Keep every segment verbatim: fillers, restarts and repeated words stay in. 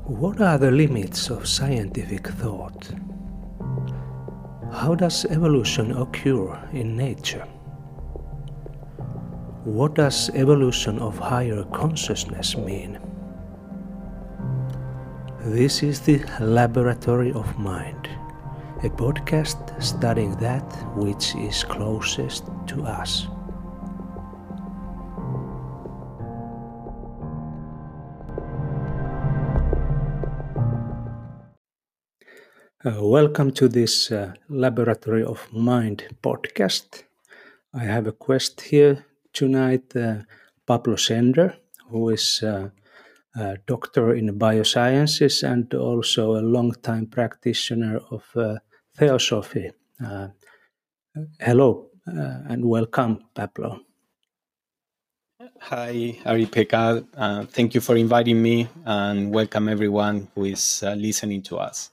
What are the limits of scientific thought? How does evolution occur in nature? What does evolution of higher consciousness mean? This is the Laboratory of Mind, a podcast studying that which is closest to us. Uh, welcome to this uh, Laboratory of Mind podcast. I have a guest here tonight, uh, Pablo Sender, who is uh, a doctor in biosciences and also a long-time practitioner of uh, theosophy. Uh, hello uh, and welcome, Pablo. Hi, Ari-Pekka. Uh, thank you for inviting me, and welcome everyone who is uh, listening to us.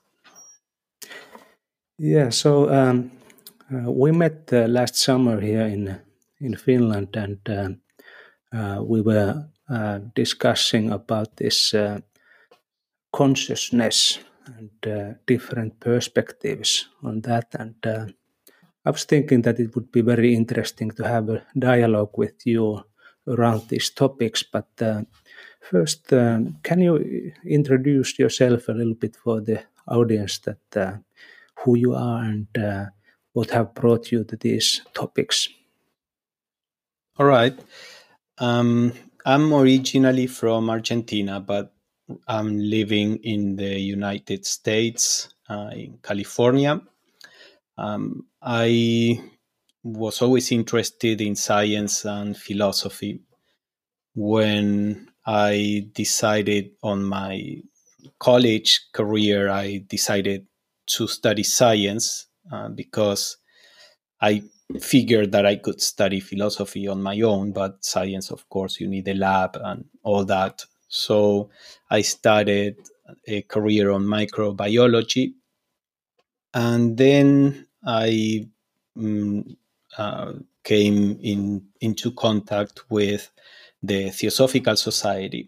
Yeah, so um, uh, we met uh, last summer here in in Finland, and uh, uh, we were uh, discussing about this uh, consciousness and uh, different perspectives on that. And uh, I was thinking that it would be very interesting to have a dialogue with you around these topics. But uh, first, um, can you introduce yourself a little bit for the audience, that uh, who you are and uh, what have brought you to these topics? All right. Um, I'm originally from Argentina, but I'm living in the United States, uh, in California. Um, I was always interested in science and philosophy. When I decided on my college career, I decided to study science uh, because I figured that I could study philosophy on my own, but science, of course, you need a lab and all that. So I started a career on microbiology, and then I mm, uh, came in into contact with the Theosophical Society.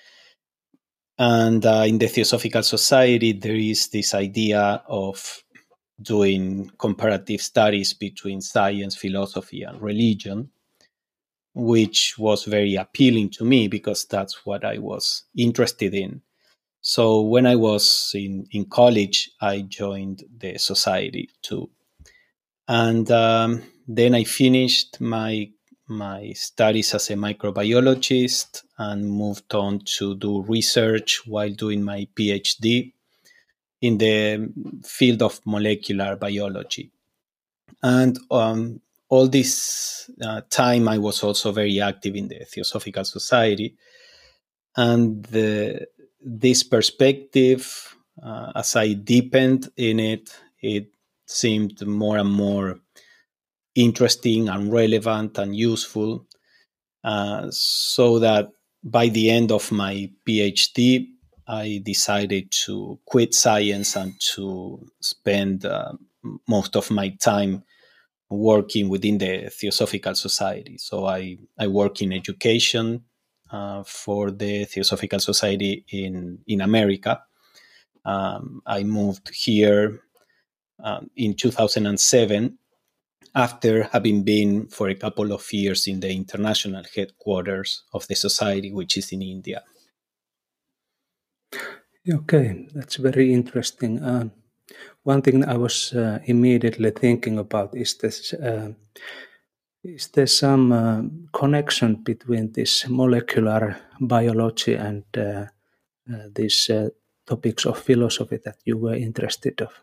And uh, in the Theosophical Society, there is this idea of doing comparative studies between science, philosophy, and religion, which was very appealing to me because that's what I was interested in. So when I was in, in college, I joined the society too. And um, then I finished my my studies as a microbiologist and moved on to do research while doing my PhD in the field of molecular biology. And um, all this uh, time, I was also very active in the Theosophical Society. And the, this perspective, uh, as I deepened in it, it seemed more and more interesting and relevant and useful. Uh, so that by the end of my PhD, I decided to quit science and to spend uh, most of my time working within the Theosophical Society. So I, I work in education uh, for the Theosophical Society in, in America. Um, I moved here um, in two thousand seven after having been for a couple of years in the international headquarters of the society, which is in India. Okay, that's very interesting. Uh, one thing I was uh, immediately thinking about is this. Uh, Is there some uh, connection between this molecular biology and uh, uh, these uh, topics of philosophy that you were interested of?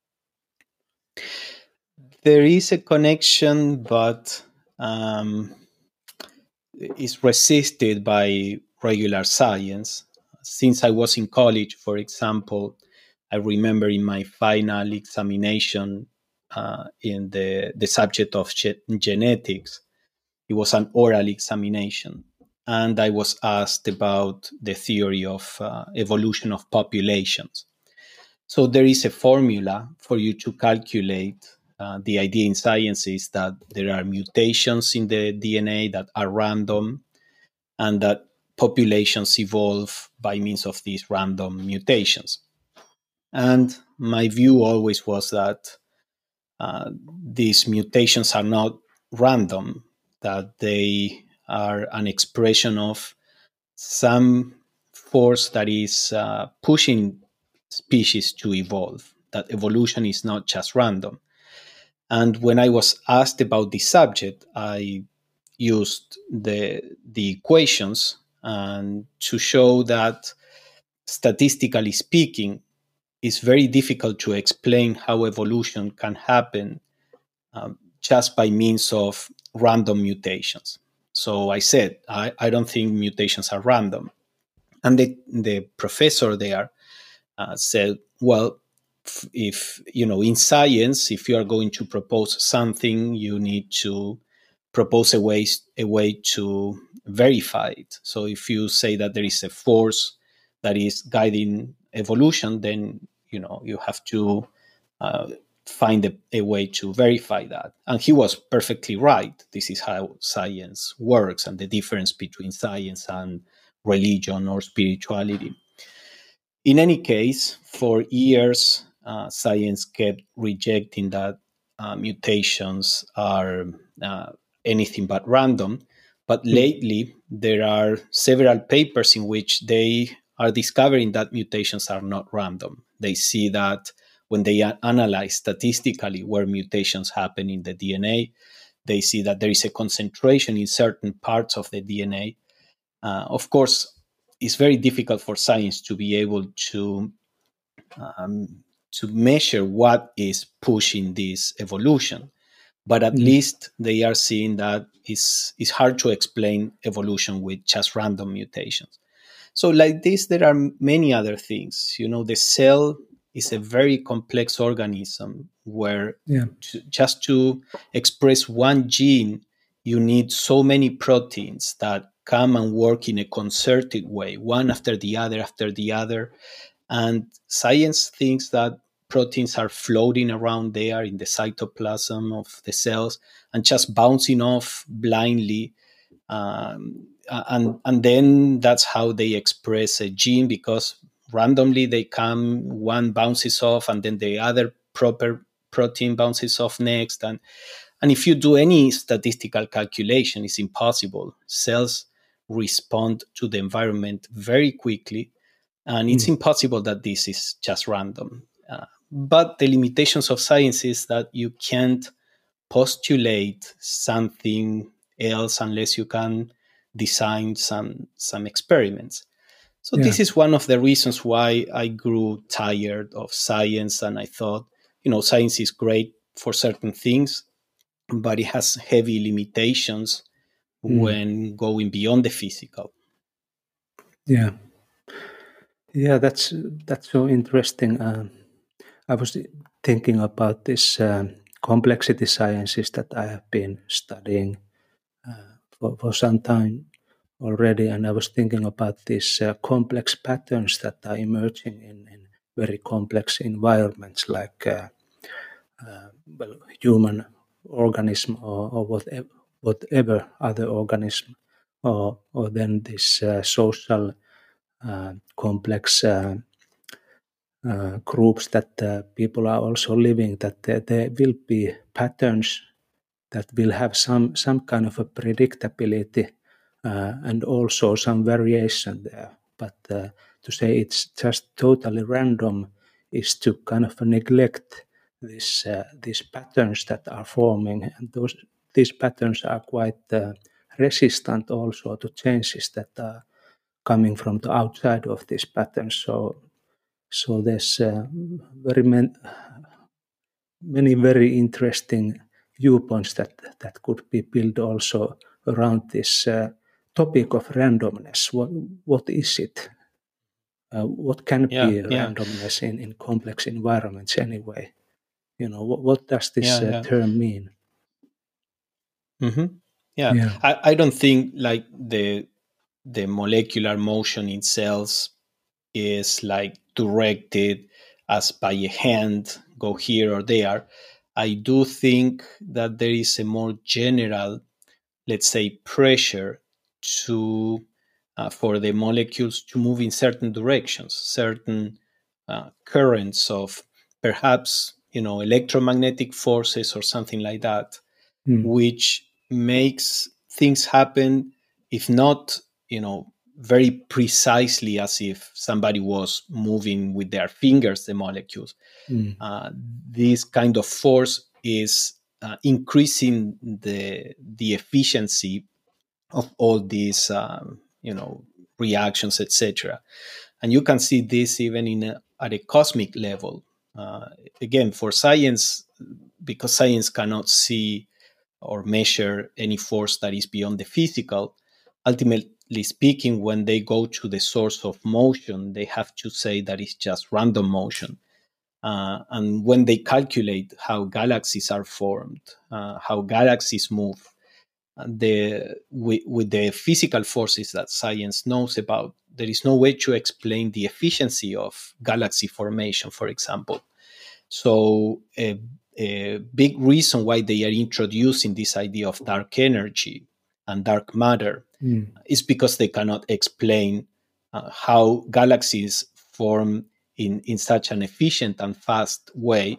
There is a connection, but um, is resisted by regular science. Since I was in college, for example, I remember in my final examination uh, in the, the subject of ge- genetics, it was an oral examination. And I was asked about the theory of uh, evolution of populations. So there is a formula for you to calculate. Uh, the idea in science is that there are mutations in the D N A that are random, and that populations evolve by means of these random mutations. And my view always was that uh, these mutations are not random, that they are an expression of some force that is uh, pushing species to evolve, that evolution is not just random. And when I was asked about this subject, I used the, the equations and to show that statistically speaking, it's very difficult to explain how evolution can happen um, just by means of random mutations. So I said, I, I don't think mutations are random. And the, the professor there uh, said, well, f- if, you know, in science, if you are going to propose something, you need to propose a way, a way to verify it. So if you say that there is a force that is guiding evolution, then, you know, you have to uh, find a, a way to verify that. And he was perfectly right. This is how science works, and the difference between science and religion or spirituality. In any case, for years, uh, science kept rejecting that uh, mutations are uh, anything but random. But lately, there are several papers in which they are discovering that mutations are not random. They see that when they a- analyze statistically where mutations happen in the D N A, they see that there is a concentration in certain parts of the D N A. Uh, of course, it's very difficult for science to be able to um, to measure what is pushing this evolution, but at Mm. least they are seeing that it's, it's hard to explain evolution with just random mutations. So, like this, there are many other things. You know, the cell is a very complex organism where Yeah. to, just to express one gene, you need so many proteins that come and work in a concerted way, one after the other, after the other. And science thinks that proteins are floating around there in the cytoplasm of the cells and just bouncing off blindly. Um, and and then that's how they express a gene, because randomly they come, one bounces off, and then the other proper protein bounces off next. And and if you do any statistical calculation, it's impossible. Cells respond to the environment very quickly, and it's Mm. impossible that this is just random. Uh, but the limitations of science is that you can't postulate something else unless you can design some some experiments. So Yeah. this is one of the reasons why I grew tired of science, and I thought, you know, science is great for certain things, but it has heavy limitations Mm. when going beyond the physical. Yeah. Yeah. That's that's so interesting. Um, I was thinking about this um, complexity sciences that I have been studying uh, for, for some time already, and I was thinking about these uh, complex patterns that are emerging in, in very complex environments, like uh, uh, well, human organism or, or whatever, whatever other organism, or or then this uh, social uh, complex uh, uh, groups that uh, people are also living. That there, there will be patterns that will have some some kind of a predictability uh, and also some variation there. But uh, to say it's just totally random is to kind of neglect this uh, these patterns that are forming, and those these patterns are quite uh, resistant also to changes that are coming from the outside of these patterns. So so there's uh, very man, many very interesting viewpoints that that could be built also around this uh, topic of randomness. What what is it? Uh, what can Yeah, be yeah, randomness in, in complex environments anyway? You know, what, what does this yeah, uh, yeah. term mean? hmm Yeah, Yeah. I, I don't think like the the molecular motion in cells is like directed as by a hand, go here or there. I do think that there is a more general, let's say, pressure to uh, for the molecules to move in certain directions, certain uh, currents of perhaps, you know, electromagnetic forces or something like that, Mm. which makes things happen, if not, you know, very precisely as if somebody was moving with their fingers the molecules. Mm. Uh, this kind of force is uh, increasing the the efficiency of all these, um, you know, reactions, et cetera. And you can see this even in a, at a cosmic level. Uh, again, for science, because science cannot see or measure any force that is beyond the physical, ultimately speaking, when they go to the source of motion, they have to say that it's just random motion. Uh, and when they calculate how galaxies are formed, uh, how galaxies move, the with, with the physical forces that science knows about, there is no way to explain the efficiency of galaxy formation, for example. So a, a big reason why they are introducing this idea of dark energy and dark matter Mm. is because they cannot explain uh, how galaxies form in, in such an efficient and fast way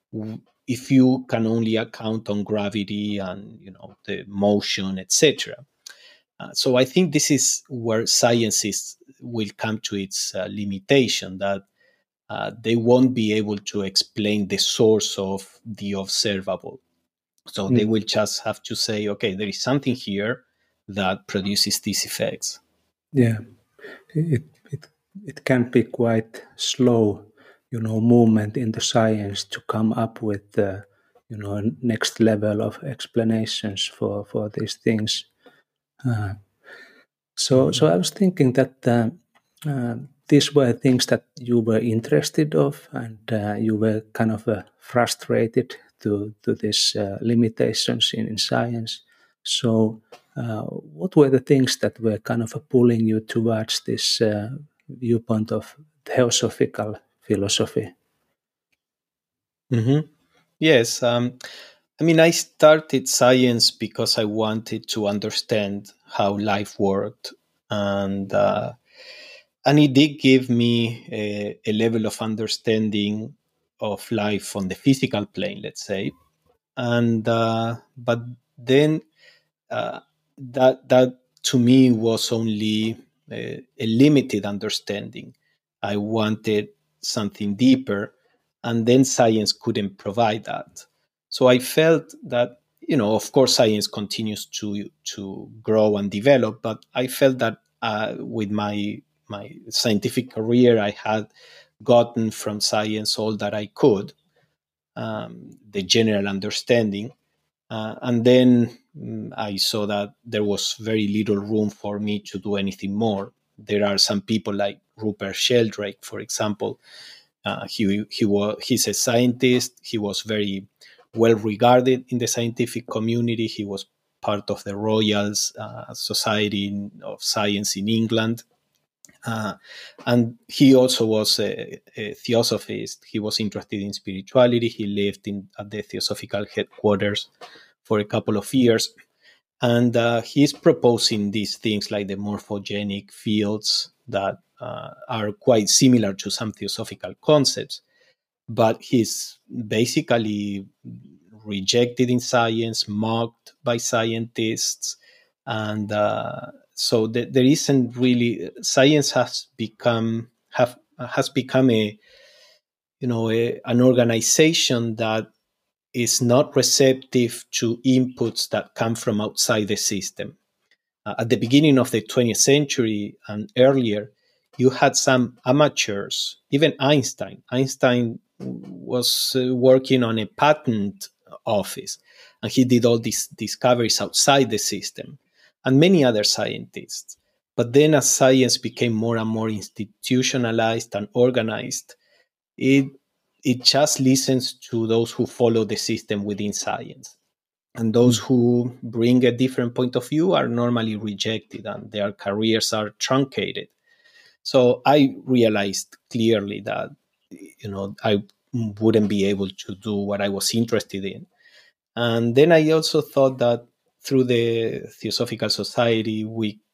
if you can only account on gravity and, you know, the motion, et cetera. Uh, so I think this is where science is, will come to its uh, limitation, that uh, they won't be able to explain the source of the observable. So they Mm. will just have to say, okay, there is something here that produces these effects. Yeah, it, it, it can be quite slow, you know, movement in the science to come up with the, you know, next level of explanations for, for these things. Uh, so, Mhm. so I was thinking that uh, uh, these were things that you were interested of, and uh, you were kind of uh, frustrated to to these uh, limitations in, in science. So, uh, what were the things that were kind of pulling you towards this uh, viewpoint of theosophical philosophy? Mhm. Yes. Um, I mean, I started science because I wanted to understand how life worked, and uh, and it did give me a, a level of understanding of life on the physical plane, let's say. And uh, but then uh, that that to me was only a, a limited understanding. I wanted something deeper, and then science couldn't provide that. So I felt that, you know, of course, science continues to to grow and develop, but I felt that uh, with my my scientific career, I had gotten from science all that I could, um, the general understanding, uh, and then mm, I saw that there was very little room for me to do anything more. There are some people like Rupert Sheldrake, for example. Uh, he he was he's a scientist. He was very well regarded in the scientific community. He was part of the Royal uh, Society of Science in England. Uh, and he also was a, a theosophist. He was interested in spirituality. He lived in at the theosophical headquarters for a couple of years. And uh, he's proposing these things like the morphogenic fields that uh, are quite similar to some theosophical concepts. But he's basically rejected in science, mocked by scientists. And uh, so th- there isn't really, science has become have has become a, you know, a, an organization that is not receptive to inputs that come from outside the system. Uh, at the beginning of the twentieth century and earlier, you had some amateurs, even Einstein. Einstein was uh, working on a patent office, and he did all these discoveries outside the system, and many other scientists. But then, as science became more and more institutionalized and organized, it it just listens to those who follow the system within science, and those Mm. who bring a different point of view are normally rejected and their careers are truncated. So I realized clearly that, you know, I wouldn't be able to do what I was interested in. And then I also thought that through the Theosophical Society, we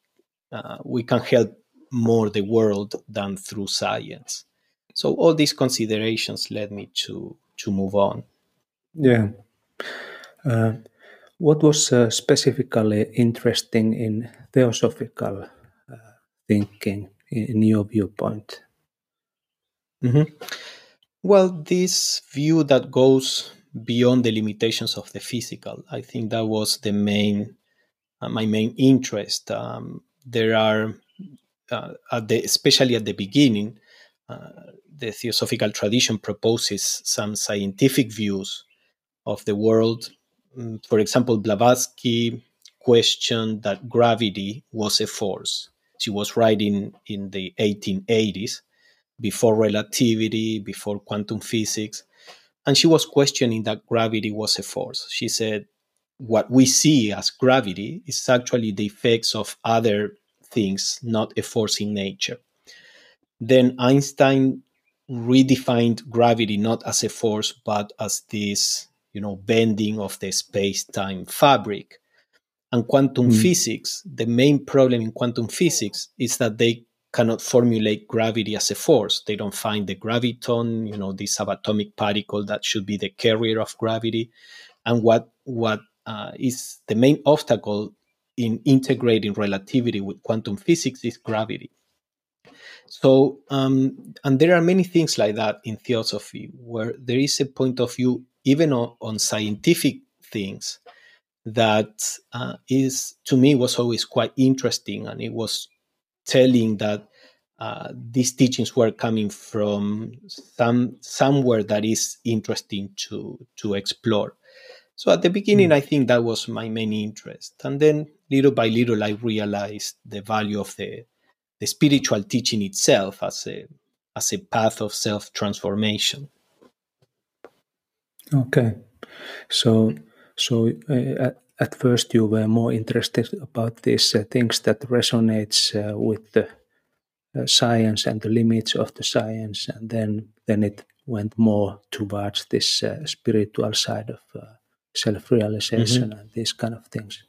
uh, we can help more the world than through science. So all these considerations led me to to move on. Yeah. Uh, what was uh, specifically interesting in theosophical uh, thinking in, in your viewpoint? Mhm. Well, this view that goes beyond the limitations of the physical, I think that was the main, uh, my main interest. Um, there are, uh, at the, especially at the beginning, uh, the theosophical tradition proposes some scientific views of the world. Mm, For example, Blavatsky questioned that gravity was a force. She was writing in the eighteen eighties, before relativity, before quantum physics, and she was questioning that gravity was a force. She said, what we see as gravity is actually the effects of other things, not a force in nature. Then Einstein redefined gravity not as a force, but as this, you know, bending of the space-time fabric. And quantum Mm. physics, the main problem in quantum physics is that they cannot formulate gravity as a force. They don't find the graviton, you know, this subatomic particle that should be the carrier of gravity. And what what uh, is the main obstacle in integrating relativity with quantum physics is gravity. So, um, and there are many things like that in theosophy where there is a point of view, even on, on scientific things, that uh, is, to me, was always quite interesting. And it was telling that uh, these teachings were coming from some somewhere that is interesting to to explore. So at the beginning, Mm. I think that was my main interest, and then little by little, I realized the value of the the spiritual teaching itself as a as a path of self transformation. Okay. So, so uh, at, at first you were more interested about these uh, things that resonates uh, with the uh, science and the limits of the science, and then then it went more towards this uh, spiritual side of uh, self-realization Mhm. and these kind of things.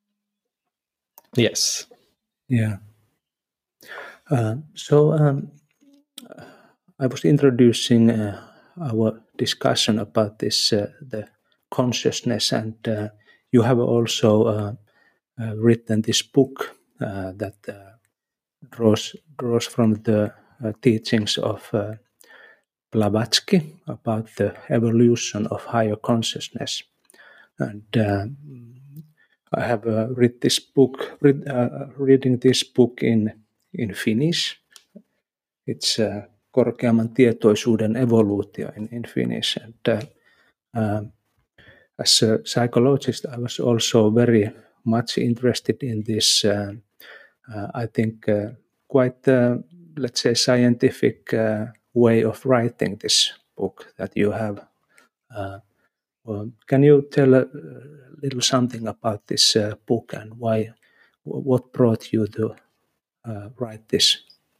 Yes. Yeah. Uh, so um, I was introducing uh, our discussion about this uh, the consciousness, and uh, you have also uh, uh, written this book uh, that uh, draws draws from the uh, teachings of uh, Blavatsky about the evolution of higher consciousness. And uh, I have uh, read this book, read, uh, reading this book in in Finnish. It's uh, korkeamman tietoisuuden evoluutio in, in Finnish. And uh, uh, as a psychologist, I was also very much interested in this. Uh, uh, I think uh, quite, uh, let's say, scientific uh, way of writing this book that you have. Uh, well, can you tell a little something about this uh, book and why? What brought you to uh, write this?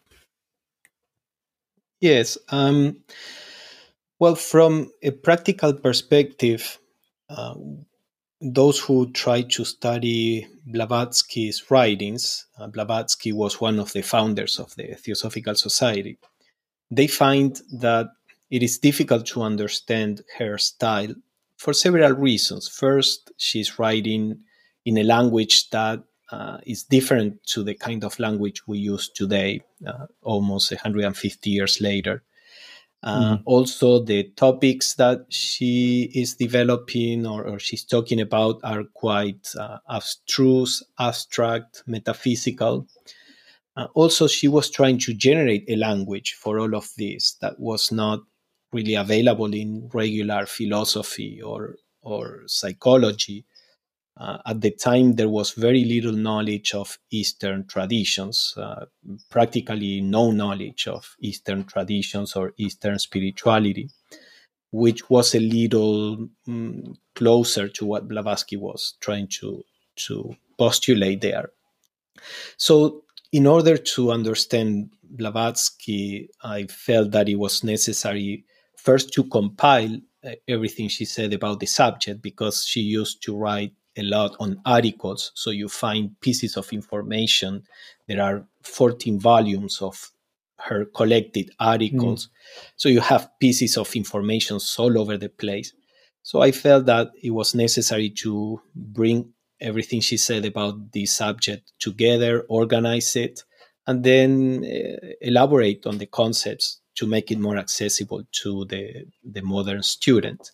Yes. Um, well, from a practical perspective, uh, those who try to study Blavatsky's writings, uh, Blavatsky was one of the founders of the Theosophical Society, they find that it is difficult to understand her style for several reasons. First, she's writing in a language that uh, is different to the kind of language we use today, uh, almost one hundred fifty years later. Uh, Mm. also, the topics that she is developing or, or she's talking about are quite uh, abstruse, abstract, metaphysical. Uh, also, she was trying to generate a language for all of this that was not really available in regular philosophy or or psychology. Uh, at the time, there was very little knowledge of Eastern traditions, uh, practically no knowledge of Eastern traditions or Eastern spirituality, which was a little mm, closer to what Blavatsky was trying to to postulate there. So, in order to understand Blavatsky, I felt that it was necessary first to compile uh, everything she said about the subject, because she used to write a lot on articles. So you find pieces of information. There are fourteen volumes of her collected articles. Mm. So you have pieces of information all over the place. So I felt that it was necessary to bring everything she said about the subject together, organize it, and then uh, elaborate on the concepts to make it more accessible to the, the modern student.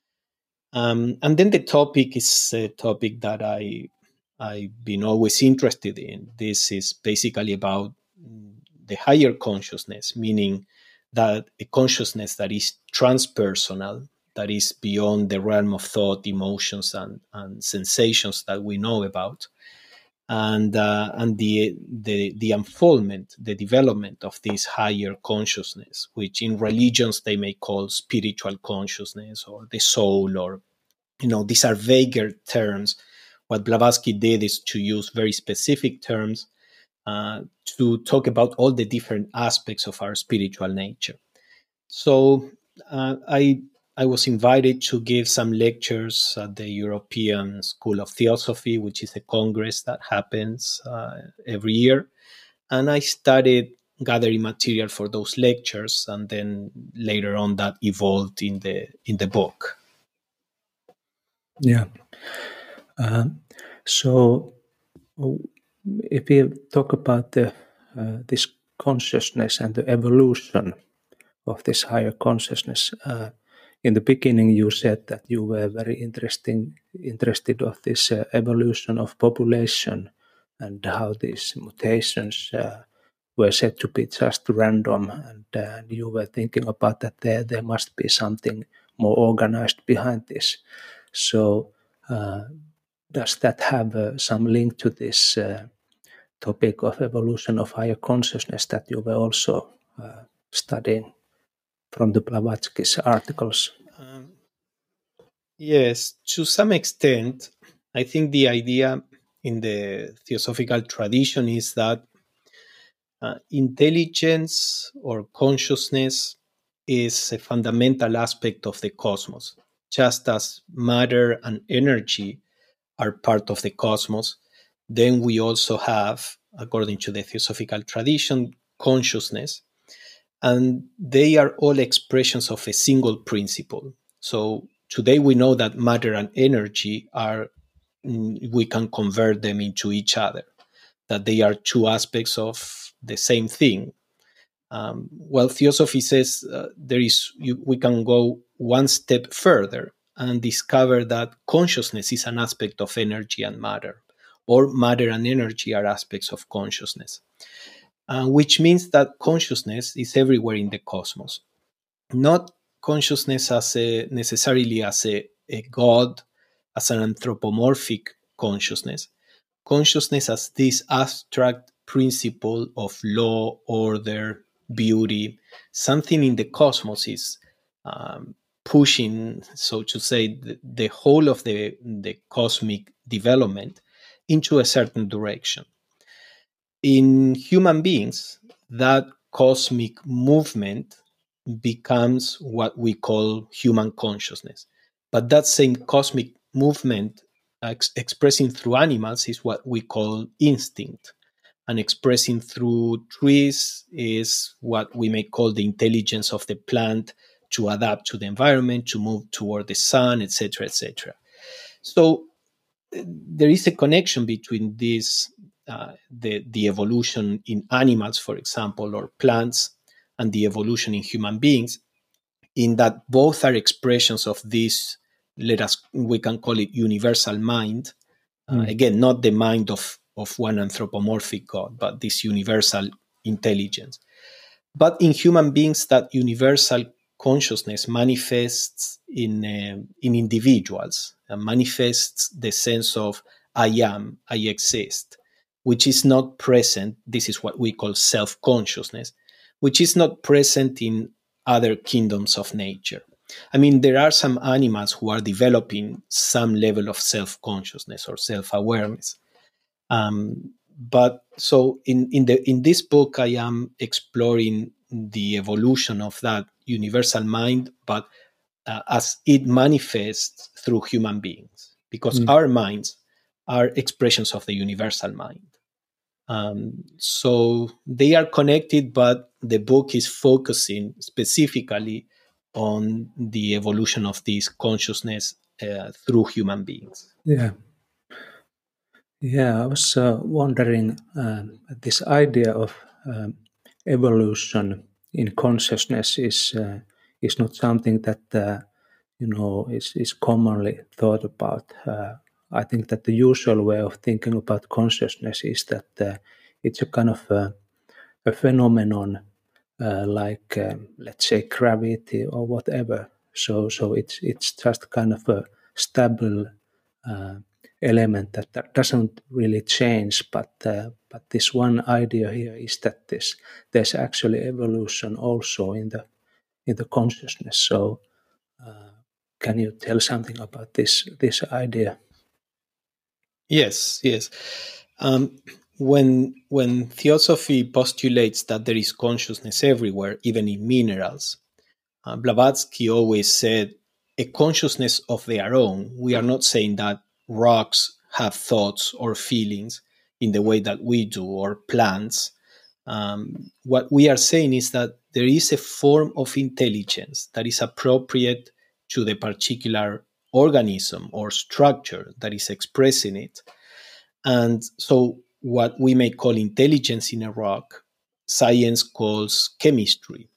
Um, and then the topic is a topic that I, I've been always interested in. This is basically about the higher consciousness, meaning that a consciousness that is transpersonal, that is beyond the realm of thought, emotions, and, and sensations that we know about, and uh, and the, the the unfoldment, the development of this higher consciousness, which in religions they may call spiritual consciousness or the soul, or you know, these are vaguer terms. What Blavatsky did is to use very specific terms uh, to talk about all the different aspects of our spiritual nature. So uh, I I was invited to give some lectures at the European School of Theosophy, which is a congress that happens uh, every year. And I started gathering material for those lectures, and then later on that evolved in the in the book. Yeah. Uh, so if we talk about the uh, this consciousness and the evolution of this higher consciousness, uh, in the beginning you said that you were very interesting interested of this uh, evolution of population and how these mutations uh, were said to be just random, and uh, you were thinking about that there there must be something more organized behind this. So uh, does that have uh, some link to this uh, topic of evolution of higher consciousness that you were also uh, studying from the Blavatsky's articles? Um, yes, to some extent. I think the idea in the theosophical tradition is that uh, intelligence or consciousness is a fundamental aspect of the cosmos. Just as matter and energy are part of the cosmos, then we also have, according to the theosophical tradition, consciousness, and they are all expressions of a single principle. So today we know that matter and energy are, we can convert them into each other, that they are two aspects of the same thing. Um, well, theosophy says uh, there is you, we can go one step further and discover that consciousness is an aspect of energy and matter, or matter and energy are aspects of consciousness, uh, which means that consciousness is everywhere in the cosmos. Not consciousness as a, necessarily as a, a god, as an anthropomorphic consciousness. Consciousness as this abstract principle of law, order, beauty, something in the cosmos is um, pushing, so to say, the, the whole of the, the cosmic development into a certain direction. In human beings, that cosmic movement becomes what we call human consciousness. But that same cosmic movement ex- expressing through animals is what we call instinct. And expressing through trees is what we may call the intelligence of the plant to adapt to the environment, to move toward the sun, et cetera, et cetera. So there is a connection between this, uh, the, the evolution in animals, for example, or plants, and the evolution in human beings, in that both are expressions of this, let us, we can call it universal mind. Uh, mm. Again, not the mind of, of one anthropomorphic God, but this universal intelligence. But in human beings, that universal consciousness manifests in, uh, in individuals, and manifests the sense of I am, I exist, which is not present. This is what we call self-consciousness, which is not present in other kingdoms of nature. I mean, there are some animals who are developing some level of self-consciousness or self-awareness. Um, but so in, in, the, in this book, I am exploring the evolution of that universal mind, but uh, as it manifests through human beings. because Mm. our minds are expressions of the universal mind. Um, so they are connected, but the book is focusing specifically on the evolution of this consciousness uh, through human beings. Yeah. Yeah, I was uh, wondering um, this idea of um, evolution in consciousness is uh, is not something that uh, you know is is commonly thought about. Uh, I think that the usual way of thinking about consciousness is that uh, it's a kind of a, a phenomenon, uh, like um, let's say gravity or whatever. So so it's it's just kind of a stable uh, element that, that doesn't really change. But uh, but this one idea here is that this there's actually evolution also in the in the consciousness. So uh, can you tell something about this this idea? Yes, yes. Um, when when theosophy postulates that there is consciousness everywhere, even in minerals, uh, Blavatsky always said a consciousness of their own. We are not saying that rocks have thoughts or feelings in the way that we do, or plants. Um, what we are saying is that there is a form of intelligence that is appropriate to the particular organism or structure that is expressing it. And so, what we may call intelligence in a rock, science calls chemistry.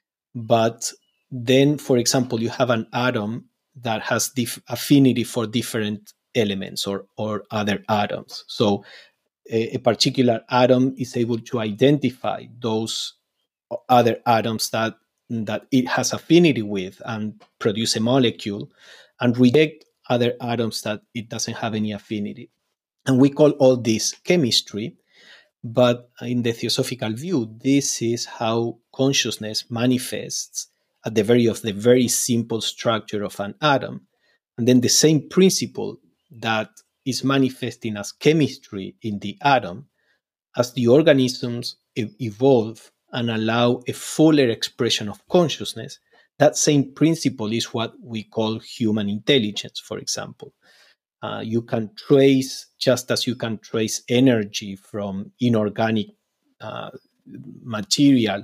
But then, for example, you have an atom that has dif- affinity for different elements or, or other atoms. So, a, a particular atom is able to identify those other atoms that that it has affinity with and produce a molecule, and reject other atoms that it doesn't have any affinity. And we call all this chemistry. But in the theosophical view, this is how consciousness manifests at the very of the very simple structure of an atom. And then the same principle that is manifesting as chemistry in the atom, as the organisms e- evolve and allow a fuller expression of consciousness, that same principle is what we call human intelligence, for example. Uh, you can trace, just as you can trace energy from inorganic uh, material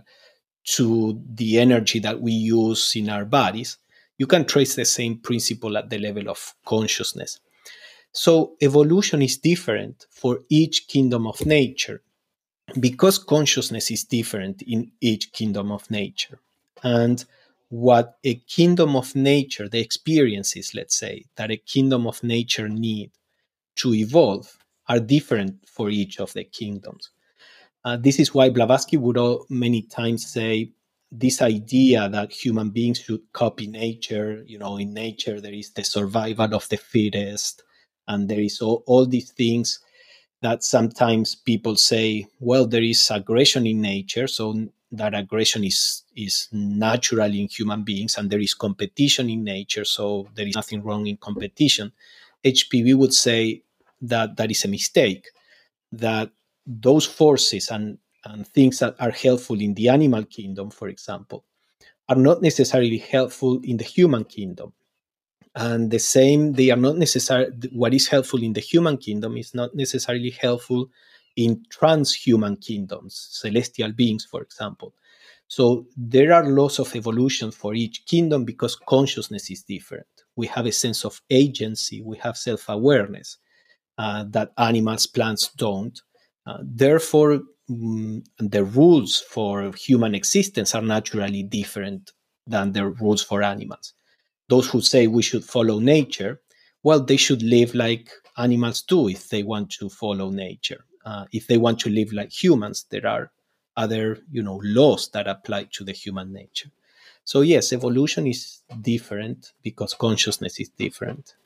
to the energy that we use in our bodies, you can trace the same principle at the level of consciousness. So, evolution is different for each kingdom of nature because consciousness is different in each kingdom of nature. And what a kingdom of nature, the experiences, let's say, that a kingdom of nature need to evolve are different for each of the kingdoms. Uh, this is why Blavatsky would all, many times say this idea that human beings should copy nature. You know, in nature there is the survival of the fittest, and there is all, all these things that sometimes people say, well, there is aggression in nature, so that aggression is is natural in human beings, and there is competition in nature, so there is nothing wrong in competition. H P V would say that that is a mistake, that those forces and, and things that are helpful in the animal kingdom, for example, are not necessarily helpful in the human kingdom. And the same, they are not necessary. What is helpful in the human kingdom is not necessarily helpful in transhuman kingdoms, celestial beings, for example. So there are laws of evolution for each kingdom because consciousness is different. We have a sense of agency, we have self awareness uh, that animals, plants don't. Uh, therefore, mm, the rules for human existence are naturally different than the rules for animals. Those who say we should follow nature, well, they should live like animals do if they want to follow nature. Uh, if they want to live like humans, there are other, you know, laws that apply to the human nature. So yes, evolution is different because consciousness is different.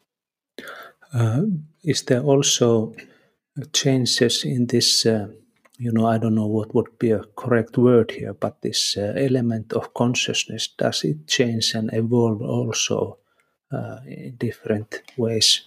Uh, is there also changes in this? Uh, you know, I don't know what would be a correct word here, but this uh, element of consciousness, does it change and evolve also uh, in different ways?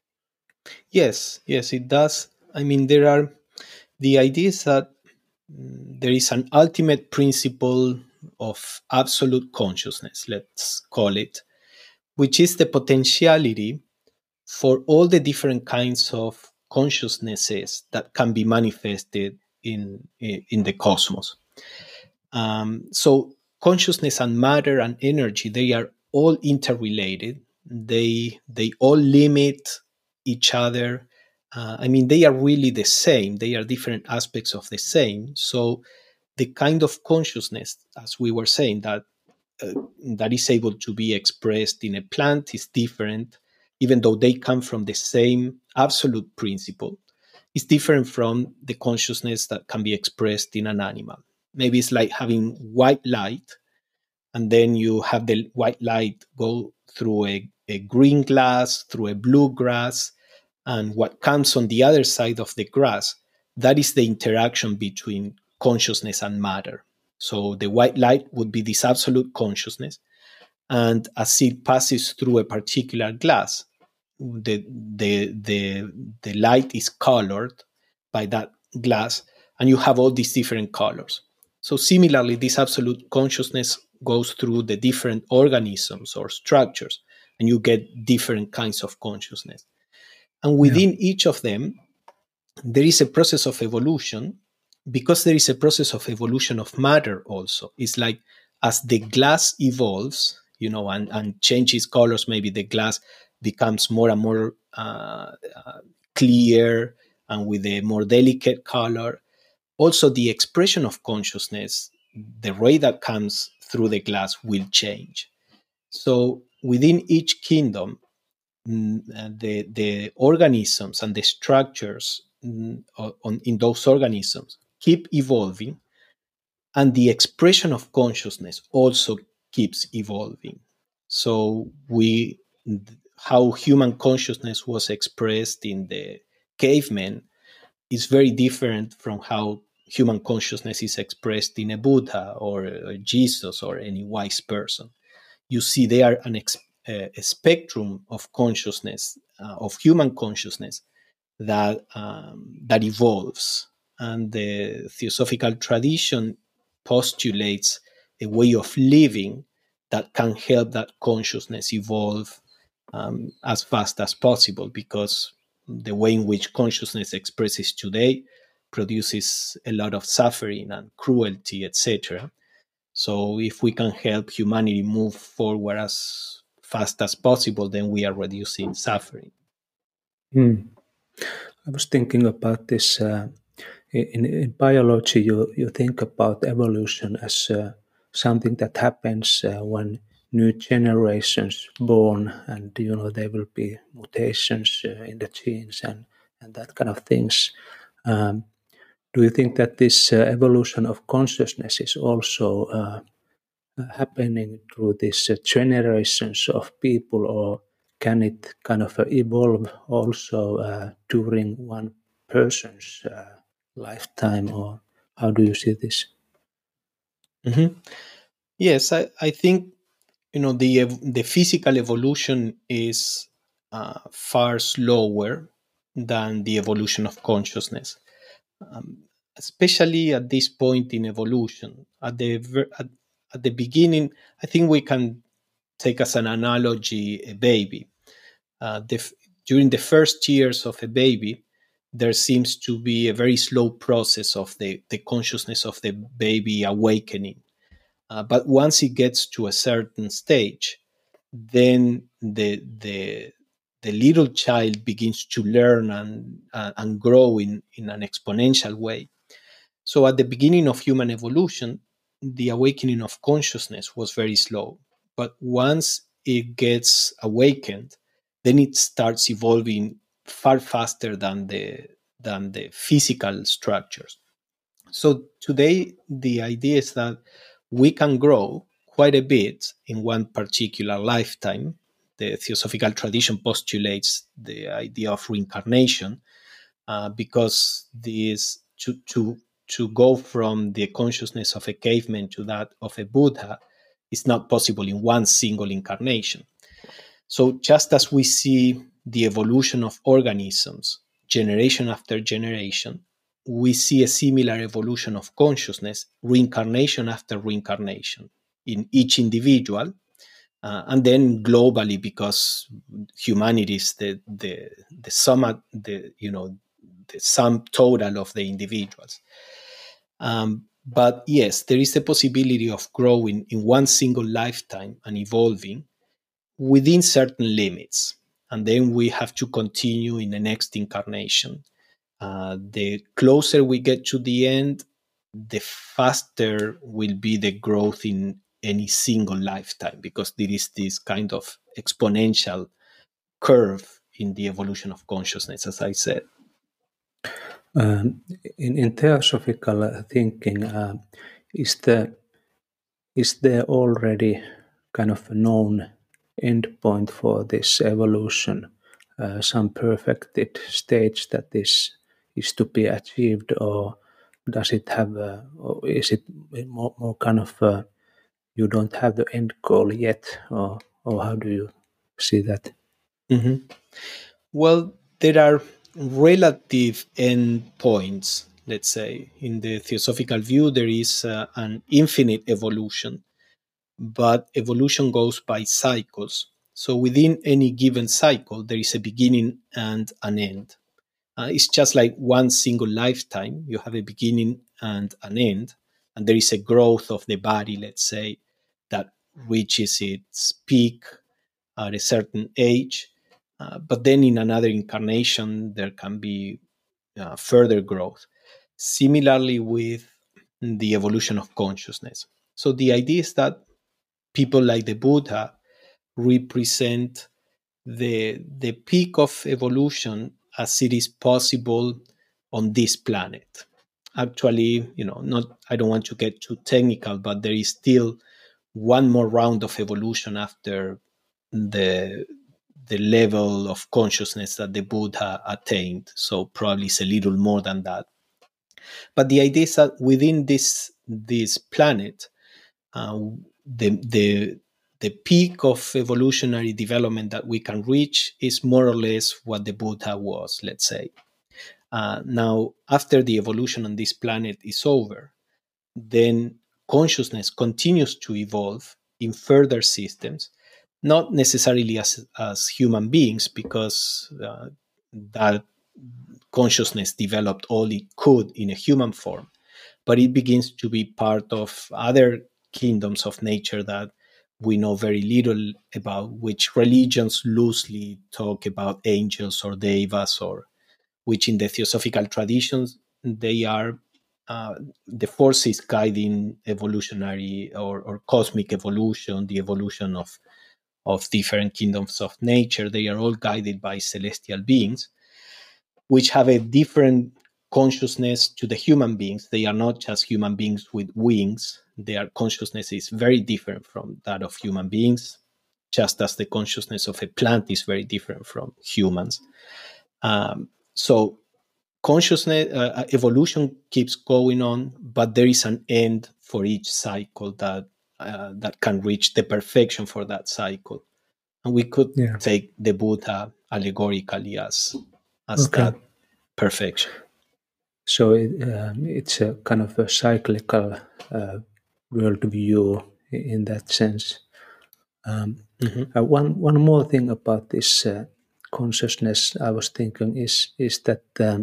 Yes, yes, it does. I mean, there are the idea is that mm, there is an ultimate principle of absolute consciousness, let's call it, which is the potentiality for all the different kinds of consciousnesses that can be manifested in, in the cosmos. Um, so consciousness and matter and energy, they are all interrelated. They they all limit each other. Uh, I mean, they are really the same. They are different aspects of the same. So the kind of consciousness, as we were saying, that uh, that is able to be expressed in a plant is different, even though they come from the same absolute principle. It's different from the consciousness that can be expressed in an animal. Maybe it's like having white light, and then you have the white light go through a, a green glass, through a blue grass, and what comes on the other side of the grass, that is the interaction between consciousness and matter. So the white light would be this absolute consciousness, and as it passes through a particular glass, the the the the light is colored by that glass, and you have all these different colors. So similarly, this absolute consciousness goes through the different organisms or structures, and you get different kinds of consciousness. And within yeah. each of them, there is a process of evolution, because there is a process of evolution of matter also. It's like as the glass evolves, you know, and, and changes colors, maybe the glass becomes more and more uh, uh, clear and with a more delicate color. Also, the expression of consciousness, the ray that comes through the glass will change. So within each kingdom, the, the organisms and the structures on, in those organisms keep evolving, and the expression of consciousness also keeps evolving. So we, how human consciousness was expressed in the cavemen is very different from how human consciousness is expressed in a Buddha or a Jesus or any wise person. You see there an ex- a spectrum of consciousness, uh, of human consciousness, that um, that evolves, and the theosophical tradition postulates a way of living that can help that consciousness evolve um, as fast as possible, because the way in which consciousness expresses today produces a lot of suffering and cruelty, et cetera. So if we can help humanity move forward as fast as possible, then we are reducing suffering. Mm. I was thinking about this. Uh, in, in biology, you, you think about evolution as uh, something that happens uh, when new generations born, and you know there will be mutations uh, in the genes and, and that kind of things. Um, do you think that this uh, evolution of consciousness is also uh, happening through these uh, generations of people, or can it kind of uh, evolve also uh, during one person's uh, lifetime, or how do you see this? Mm-hmm. Yes, I, I think you know the the physical evolution is uh, far slower than the evolution of consciousness, um, especially at this point in evolution. At the at, at the beginning, I think we can take as an analogy a baby. Uh, the, during the first years of a baby, there seems to be a very slow process of the, the consciousness of the baby awakening. Uh, but once it gets to a certain stage, then the the the little child begins to learn and uh, and grow in, in an exponential way. So at the beginning of human evolution, the awakening of consciousness was very slow. But once it gets awakened, then it starts evolving far faster than the than the physical structures. So today the idea is that we can grow quite a bit in one particular lifetime. The theosophical tradition postulates the idea of reincarnation, uh, because this to to to go from the consciousness of a caveman to that of a Buddha is not possible in one single incarnation. So just as we see the evolution of organisms generation after generation, we see a similar evolution of consciousness reincarnation after reincarnation in each individual, Uh, and then globally, because humanity is the the the sum, the you know the sum total of the individuals. Um, but yes, there is a possibility of growing in one single lifetime and evolving within certain limits, and then we have to continue in the next incarnation. Uh, the closer we get to the end, the faster will be the growth in any single lifetime, because there is this kind of exponential curve in the evolution of consciousness, as I said. Um, in, in theosophical thinking, uh, is the is there already kind of a known endpoint for this evolution, uh, some perfected stage that is is to be achieved, or does it have, a, or is it more, more kind of a, you don't have the end goal yet, or or how do you see that? Mhm. Well, there are relative endpoints, let's say. In the theosophical view, there is uh, an infinite evolution, but evolution goes by cycles. So within any given cycle, there is a beginning and an end. Uh, it's just like one single lifetime. You have a beginning and an end, and there is a growth of the body, let's say, that reaches its peak at a certain age. Uh, but then in another incarnation, there can be uh, further growth. Similarly, with the evolution of consciousness. So the idea is that people like the Buddha represent the the peak of evolution as it is possible on this planet. Actually, you know, not I don't want to get too technical, but there is still one more round of evolution after the the level of consciousness that the Buddha attained. So probably it's a little more than that. But the idea is that within this this planet, uh, the the the peak of evolutionary development that we can reach is more or less what the Buddha was, let's say. Uh, now, after the evolution on this planet is over, then consciousness continues to evolve in further systems, not necessarily as, as human beings, because uh, that consciousness developed all it could in a human form, but it begins to be part of other kingdoms of nature that we know very little about, which religions loosely talk about angels or devas, or which in the theosophical traditions they are uh, the forces guiding evolutionary or, or cosmic evolution, the evolution of of different kingdoms of nature. They are all guided by celestial beings, which have a different consciousness to the human beings. They are not just human beings with wings. Their consciousness is very different from that of human beings, just as the consciousness of a plant is very different from humans. Um, so consciousness uh, evolution keeps going on, but there is an end for each cycle that uh, that can reach the perfection for that cycle. And we could Yeah. take the Buddha allegorically as as Okay. that perfection. So it, um, it's a kind of a cyclical uh, worldview in that sense. Um, Mhm. uh, one one more thing about this uh, consciousness, I was thinking is is that um,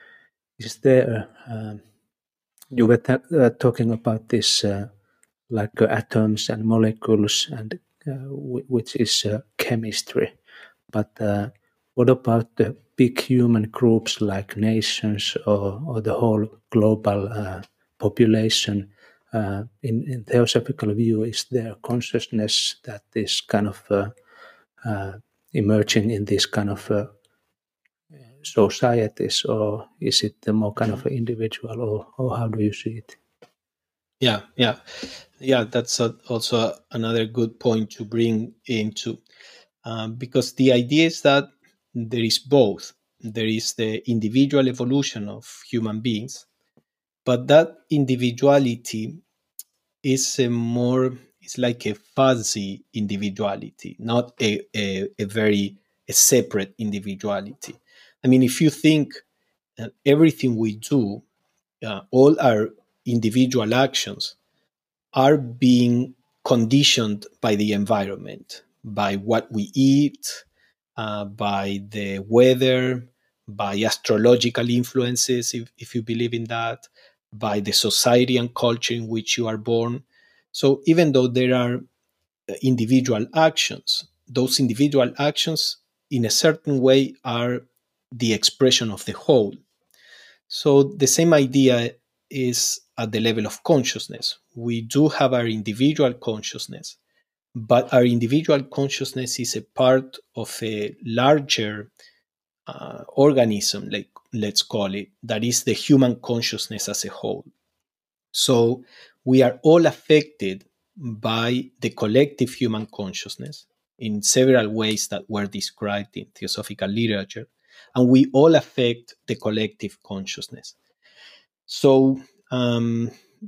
is there um, you were ta- uh, talking about this uh, like uh, atoms and molecules, and uh, w- which is uh, chemistry, but uh, what about the big human groups like nations, or, or the whole global uh, population? Uh, in, in theosophical view, is there consciousness that is kind of uh, uh, emerging in these kind of uh, societies, or is it the more kind of Mhm. individual, or, or how do you see it? Yeah, yeah, yeah. That's a, also another good point to bring into, um, because the idea is that there is both. There is the individual evolution of human beings, but that individuality is a more, it's like a fuzzy individuality, not a, a, a very a separate individuality. I mean, if you think uh, everything we do, uh, all our individual actions are being conditioned by the environment, by what we eat, uh, by the weather, by astrological influences, if, if you believe in that, by the society and culture in which you are born. So even though there are individual actions, those individual actions in a certain way are the expression of the whole. So the same idea is at the level of consciousness. We do have our individual consciousness, but our individual consciousness is a part of a larger uh, organism, like let's call it, that is the human consciousness as a whole. So we are all affected by the collective human consciousness in several ways that were described in theosophical literature, and we all affect the collective consciousness. So um,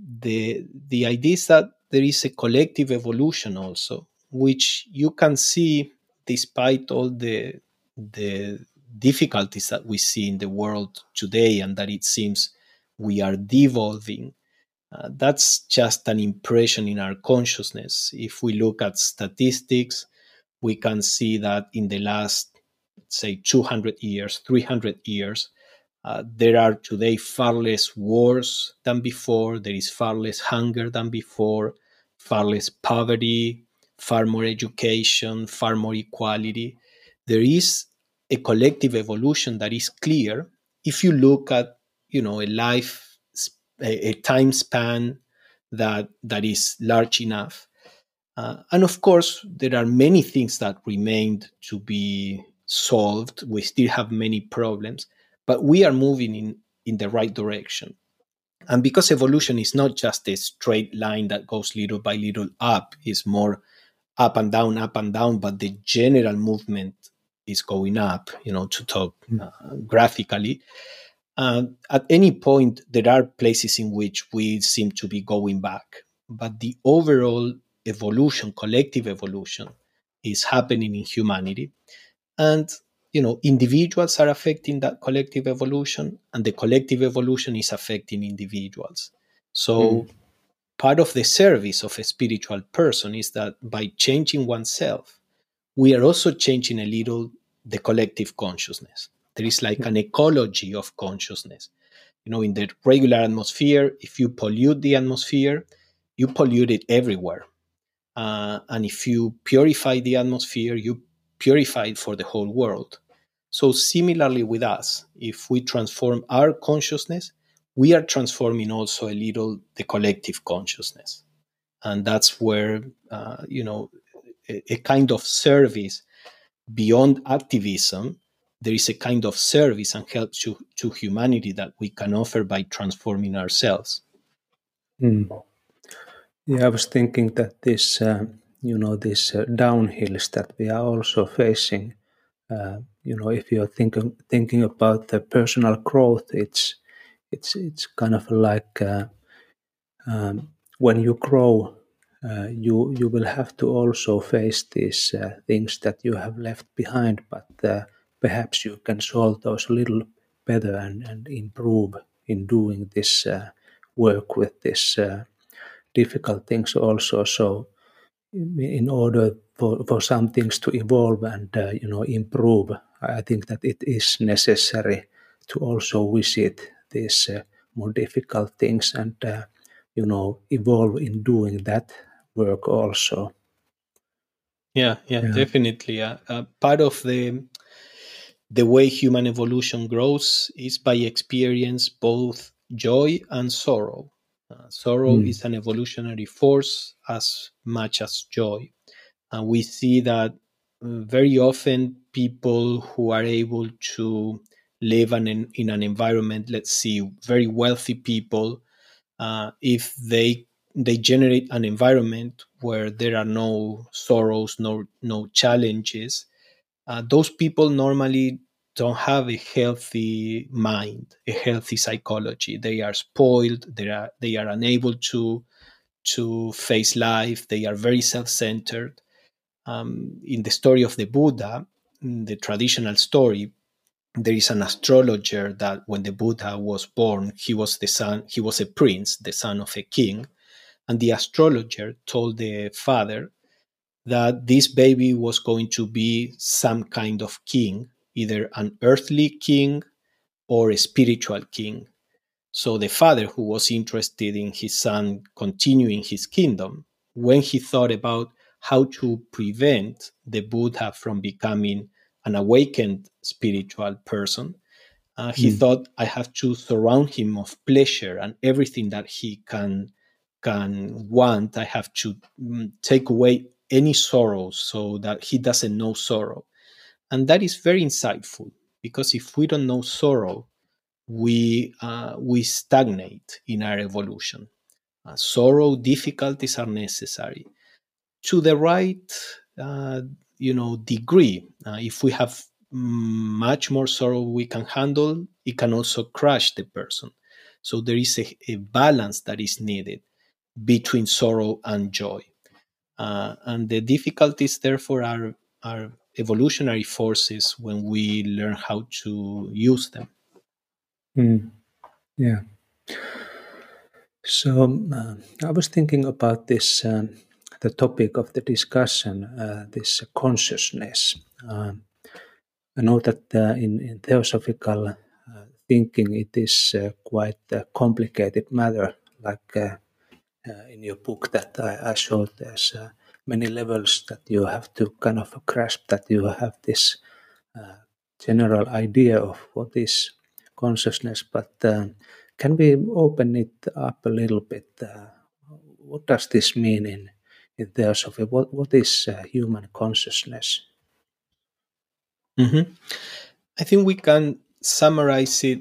the the idea is that there is a collective evolution also, which you can see despite all the the difficulties that we see in the world today, and that it seems we are devolving. Uh, that's just an impression in our consciousness. If we look at statistics, we can see that in the last, say, two hundred years, three hundred years, uh, there are today far less wars than before. There is far less hunger than before, far less poverty, far more education, far more equality. There is a collective evolution that is clear if you look at, you know, a life, a, a time span that that is large enough. Uh, and of course, there are many things that remained to be solved. We still have many problems, but we are moving in, in the right direction. And because evolution is not just a straight line that goes little by little up, it's more up and down, up and down, but the general movement is going up, you know, to talk uh, graphically. Uh, at any point, there are places in which we seem to be going back, but the overall evolution, collective evolution, is happening in humanity. And, you know, individuals are affecting that collective evolution, and the collective evolution is affecting individuals. So, mm. part of the service of a spiritual person is that by changing oneself, we are also changing a little the collective consciousness. There is like an ecology of consciousness. You know, in the regular atmosphere, if you pollute the atmosphere, you pollute it everywhere. Uh, and if you purify the atmosphere, you purify it for the whole world. So similarly with us, if we transform our consciousness, we are transforming also a little the collective consciousness. And that's where, uh, you know, a, a kind of service beyond activism, there is a kind of service and help to, to humanity that we can offer by transforming ourselves. Mm. Yeah, I was thinking that this, uh, you know, these uh, downhills that we are also facing, uh, you know, if you're thinking thinking about the personal growth, it's it's it's kind of like uh, um, when you grow, uh, you you will have to also face these uh, things that you have left behind, but uh, perhaps you can solve those a little better and, and improve in doing this uh, work with this uh, difficult things also. So in order for, for some things to evolve and uh, you know improve, I think that it is necessary to also visit these uh, more difficult things and uh, you know evolve in doing that work also. Yeah, yeah, yeah. Definitely. Uh, uh, part of the the way human evolution grows is by experience both joy and sorrow. Uh, sorrow mm. is an evolutionary force as much as joy. And we see that uh, very often people who are able to live an, in, in an environment, let's see, very wealthy people, uh, if they they generate an environment where there are no sorrows, no no challenges, uh, those people normally don't have a healthy mind, a healthy psychology. They are spoiled. They are they are unable to to face life. They are very self-centered. Um, in the story of the Buddha, in the traditional story, there is an astrologer that when the Buddha was born, he was the son, he was a prince, the son of a king, And the astrologer told the father that this baby was going to be some kind of king, either an earthly king or a spiritual king. So the father, who was interested in his son continuing his kingdom, when he thought about how to prevent the Buddha from becoming an awakened spiritual person, uh, he Mm. thought, I have to surround him of pleasure and everything that he can can want. I have to mm, take away any sorrow so that he doesn't know sorrow. And that is very insightful, because if we don't know sorrow, we uh, we stagnate in our evolution. Uh, sorrow, difficulties are necessary to the right, uh, you know, degree. Uh, if we have much more sorrow we can handle, it can also crush the person. So there is a, a balance that is needed between sorrow and joy, uh, and the difficulties, therefore, are are evolutionary forces when we learn how to use them. Mm. Yeah. So uh, I was thinking about this, um, the topic of the discussion, uh, this consciousness. Um, I know that uh, in, in theosophical uh, thinking, it is uh, quite a complicated matter. Like uh, uh, in your book that I, I showed, there's uh, many levels that you have to kind of grasp. That you have this uh, general idea of what is consciousness, but um, can we open it up a little bit? Uh, what does this mean in in theosophy? What what is uh, human consciousness? Mhm. I think we can summarize it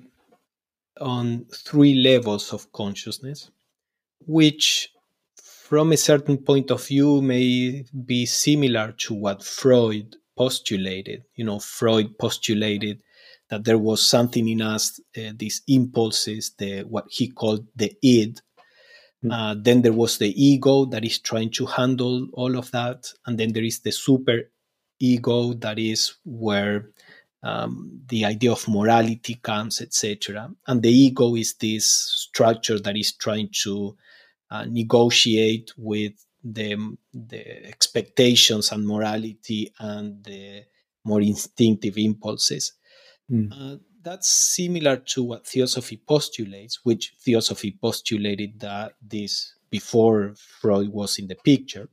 on three levels of consciousness, which, from a certain point of view, may be similar to what Freud postulated. You know, Freud postulated that there was something in us, uh, these impulses, the what he called the id. Mm. Uh, then there was the ego that is trying to handle all of that, and then there is the super ego that is where um, the idea of morality comes, et cetera. And the ego is this structure that is trying to uh, negotiate with the, the expectations and morality and the more instinctive impulses. Mm. Uh, that's similar to what theosophy postulates, which theosophy postulated that this before Freud was in the picture.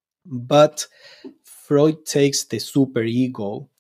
But Freud takes the superego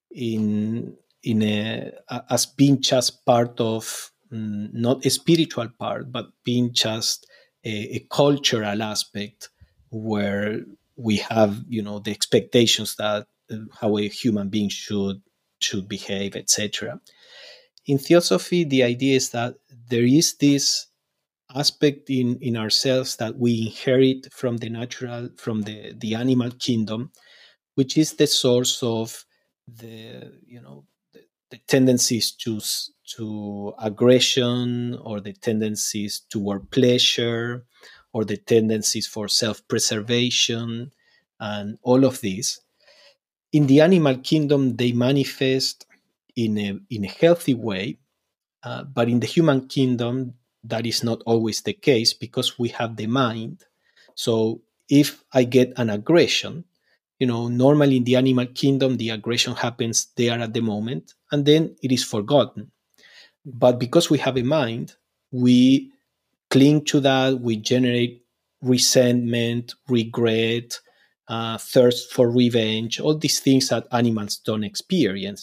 in in a as being just part of, mm, not a spiritual part, but being just a, a cultural aspect where we have, you know, the expectations that uh, how a human being should should behave, et cetera. In theosophy, the idea is that there is this aspect in in ourselves that we inherit from the natural, from the the animal kingdom, which is the source of the, you know, the, the tendencies to s- to aggression, or the tendencies toward pleasure, or the tendencies for self-preservation, and all of these. In the animal kingdom, they manifest in a in a healthy way, uh, but in the human kingdom, that is not always the case, because we have the mind. So if I get an aggression, you know, normally in the animal kingdom, the aggression happens there at the moment, and then it is forgotten. But because we have a mind, we cling to that, we generate resentment, regret, uh, thirst for revenge, all these things that animals don't experience.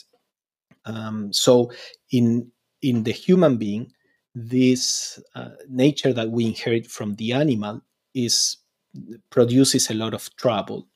Um, so in in the human being, this uh, nature that we inherit from the animal is produces a lot of trouble.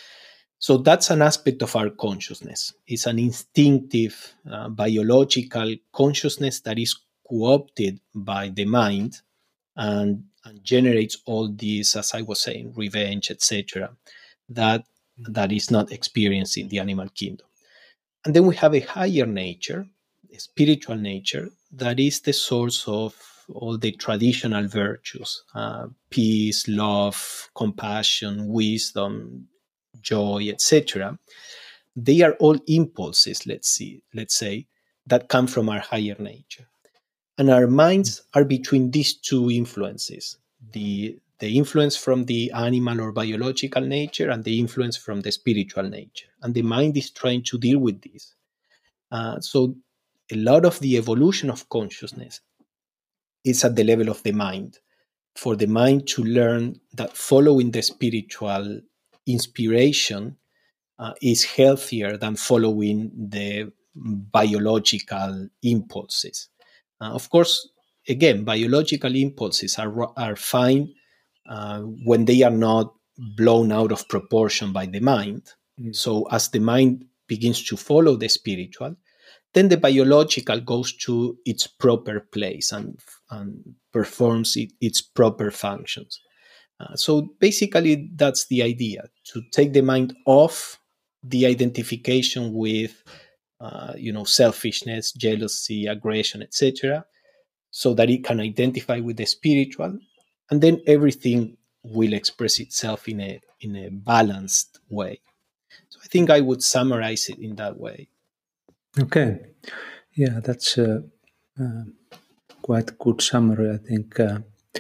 So that's an aspect of our consciousness. It's an instinctive, uh, biological consciousness that is co-opted by the mind, and, and generates all these, as I was saying, revenge, et cetera. That that is not experienced in the animal kingdom. And then we have a higher nature, a spiritual nature, that is the source of all the traditional virtues: uh, peace, love, compassion, wisdom, joy, et cetera. They are all impulses, let's see, let's say, that come from our higher nature. And our minds are between these two influences, the the influence from the animal or biological nature and the influence from the spiritual nature. And the mind is trying to deal with this. Uh, so a lot of the evolution of consciousness is at the level of the mind. For the mind to learn that following the spiritual inspiration uh, is healthier than following the biological impulses. Uh, of course, again, biological impulses are, are fine uh, when they are not blown out of proportion by the mind. Mm. So, as the mind begins to follow the spiritual, then the biological goes to its proper place and, and performs it, its proper functions. Uh, so basically, that's the idea, to take the mind off the identification with, uh, you know, selfishness, jealousy, aggression, et cetera, so that it can identify with the spiritual, and then everything will express itself in a in a balanced way. So I think I would summarize it in that way. Okay, yeah, that's a, uh, quite a good summary, I think. Uh,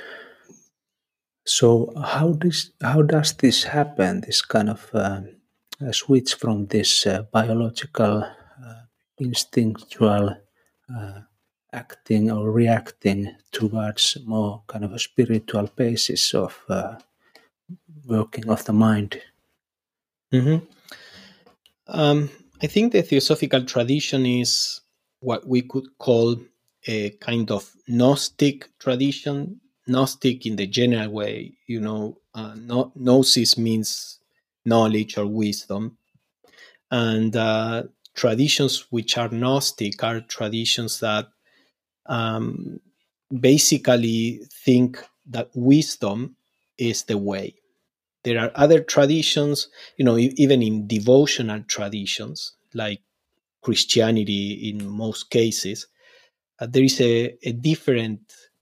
so, how does how does this happen? This kind of uh, uh, switch from this uh, biological, uh, instinctual uh, acting or reacting towards more kind of a spiritual basis of uh, working of the mind. Mm-hmm. Um, I think the theosophical tradition is what we could call a kind of Gnostic tradition. Gnostic in the general way, you know, uh, no, gnosis means knowledge or wisdom. And uh, traditions which are Gnostic are traditions that um, basically think that wisdom is the way. There are other traditions, you know, e- even in devotional traditions, like Christianity in most cases, uh, there is a, a different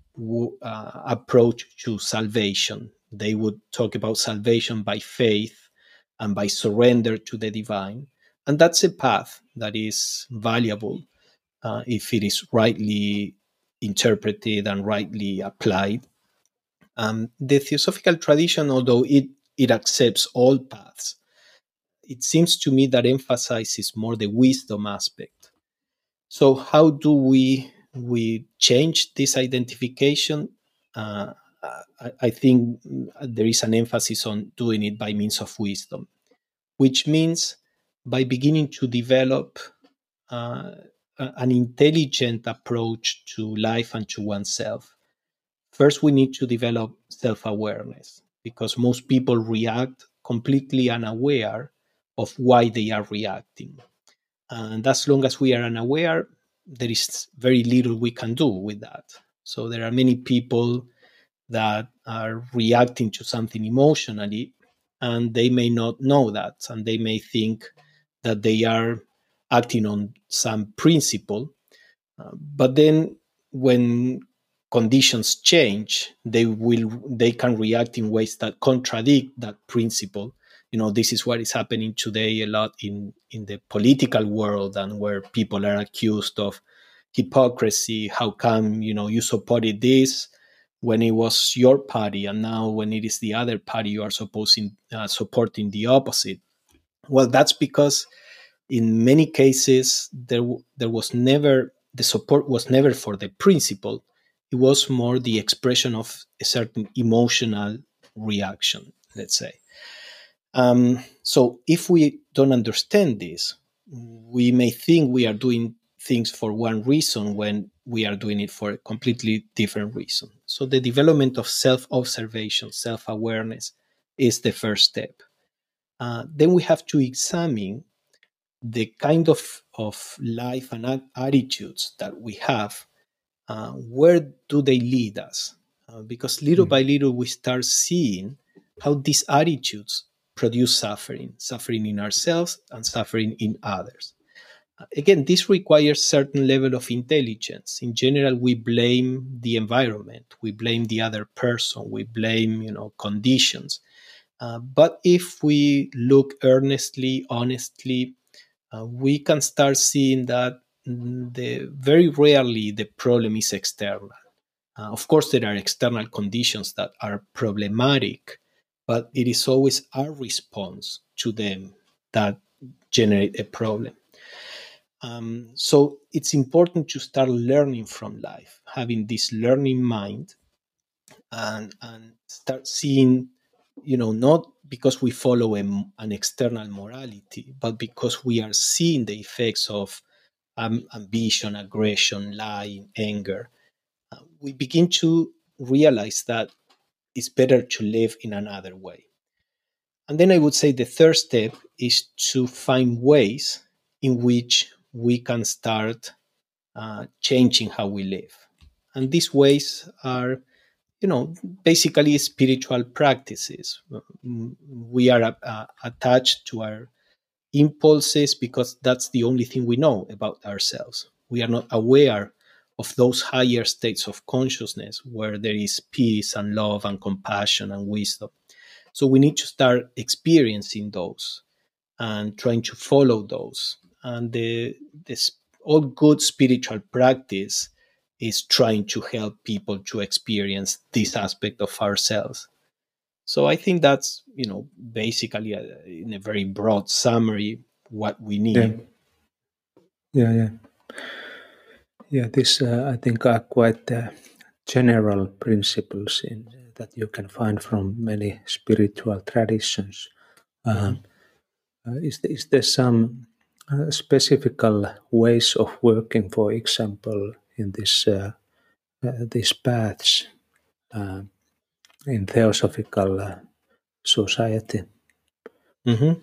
uh, approach to salvation. They would talk about salvation by faith and by surrender to the divine. And that's a path that is valuable uh, if it is rightly interpreted and rightly applied. Um, the theosophical tradition, although it, it accepts all paths, it seems to me that emphasizes more the wisdom aspect. So, how do we we change this identification? Uh, I, I think there is an emphasis on doing it by means of wisdom, which means by beginning to develop uh, an intelligent approach to life and to oneself. First, we need to develop self awareness because most people react completely unaware of why they are reacting. And as long as we are unaware, there is very little we can do with that. So there are many people that are reacting to something emotionally, and they may not know that, and they may think that they are acting on some principle. Uh, but then when conditions change, they will they can react in ways that contradict that principle. You know, this is what is happening today a lot in in the political world, and where people are accused of hypocrisy. How come, you know, you supported this when it was your party, and now when it is the other party, you are supposing uh, supporting the opposite? Well, that's because in many cases there there was never the support was never for the principle. It was more the expression of a certain emotional reaction, let's say. Um, so if we don't understand this, we may think we are doing things for one reason when we are doing it for a completely different reason. So the development of self-observation, self-awareness is the first step. Uh, then we have to examine the kind of, of life and attitudes that we have. Uh, where do they lead us? Uh, because little by little we start seeing how these attitudes produce suffering, suffering in ourselves and suffering in others. Uh, again, this requires certain level of intelligence. In general, we blame the environment, we blame the other person, we blame, you know, conditions. Uh, but if we look earnestly, honestly, uh, we can start seeing that mm, the very rarely the problem is external. Uh, of course, there are external conditions that are problematic, but it is always our response to them that generate a problem. Um, so it's important to start learning from life, having this learning mind, and and start seeing, you know, not because we follow a, an external morality, but because we are seeing the effects of um, ambition, aggression, lying, anger. Uh, we begin to realize that it's better to live in another way. And then I would say the third step is to find ways in which we can start uh, changing how we live. And these ways are, you know, basically spiritual practices. Mm, We are uh, attached to our impulses because that's the only thing we know about ourselves. We are not aware of those higher states of consciousness where there is peace and love and compassion and wisdom. So we need to start experiencing those and trying to follow those. And the this all good spiritual practice is trying to help people to experience this aspect of ourselves. So I think that's, you know, basically a, in a very broad summary what we Yeah, need. yeah, yeah. Yeah, this uh, I think are quite uh, general principles in that you can find from many spiritual traditions. Mhm. Um, uh, is, there, is there some uh, specific ways of working, for example, in this uh, uh, these paths uh, in theosophical uh, society? Mhm.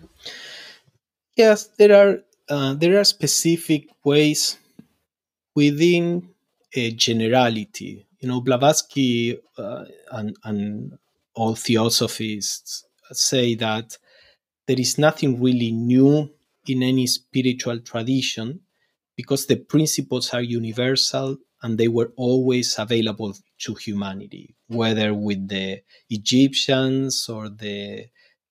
Yes, there are uh, there are specific ways within a generality. You know, Blavatsky uh, and, and all theosophists say that there is nothing really new in any spiritual tradition because the principles are universal and they were always available to humanity, whether with the Egyptians or the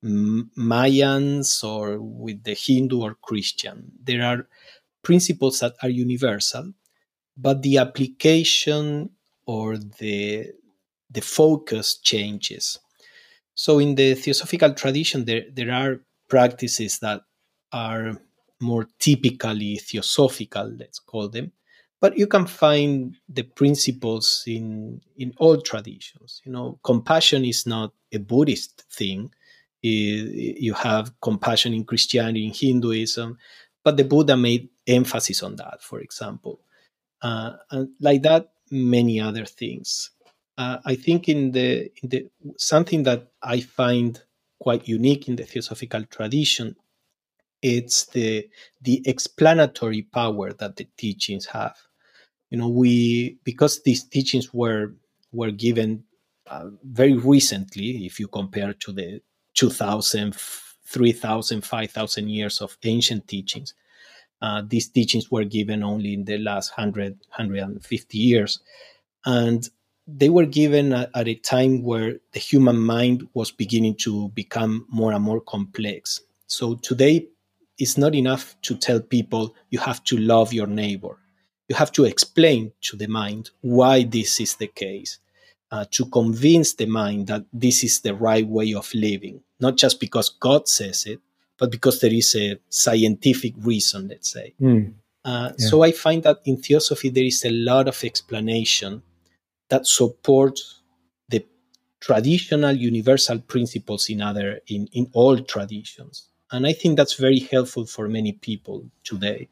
Mayans or with the Hindu or Christian. There are principles that are universal, but the application or the the focus changes. So in the theosophical tradition, there, there are practices that are more typically theosophical, let's call them, but you can find the principles in in all traditions. You know, compassion is not a Buddhist thing. I- You have compassion in Christianity, in Hinduism, but the Buddha made emphasis on that, for example, uh, and like that, many other things. Uh, I think in the in the something that I find quite unique in the theosophical tradition, it's the the explanatory power that the teachings have. You know, we because these teachings were were given uh, very recently, if you compare to the two thousand, three thousand, five thousand years of ancient teachings. Uh, these teachings were given only in the last one hundred, one hundred fifty years. And they were given at, at a time where the human mind was beginning to become more and more complex. So today, it's not enough to tell people you have to love your neighbor. You have to explain to the mind why this is the case, uh, to convince the mind that this is the right way of living, not just because God says it, but because there is a scientific reason, let's say. Mm, Uh, yeah, so I find that in theosophy, there is a lot of explanation that supports the traditional universal principles in other in, in all traditions. And I think that's very helpful for many people today.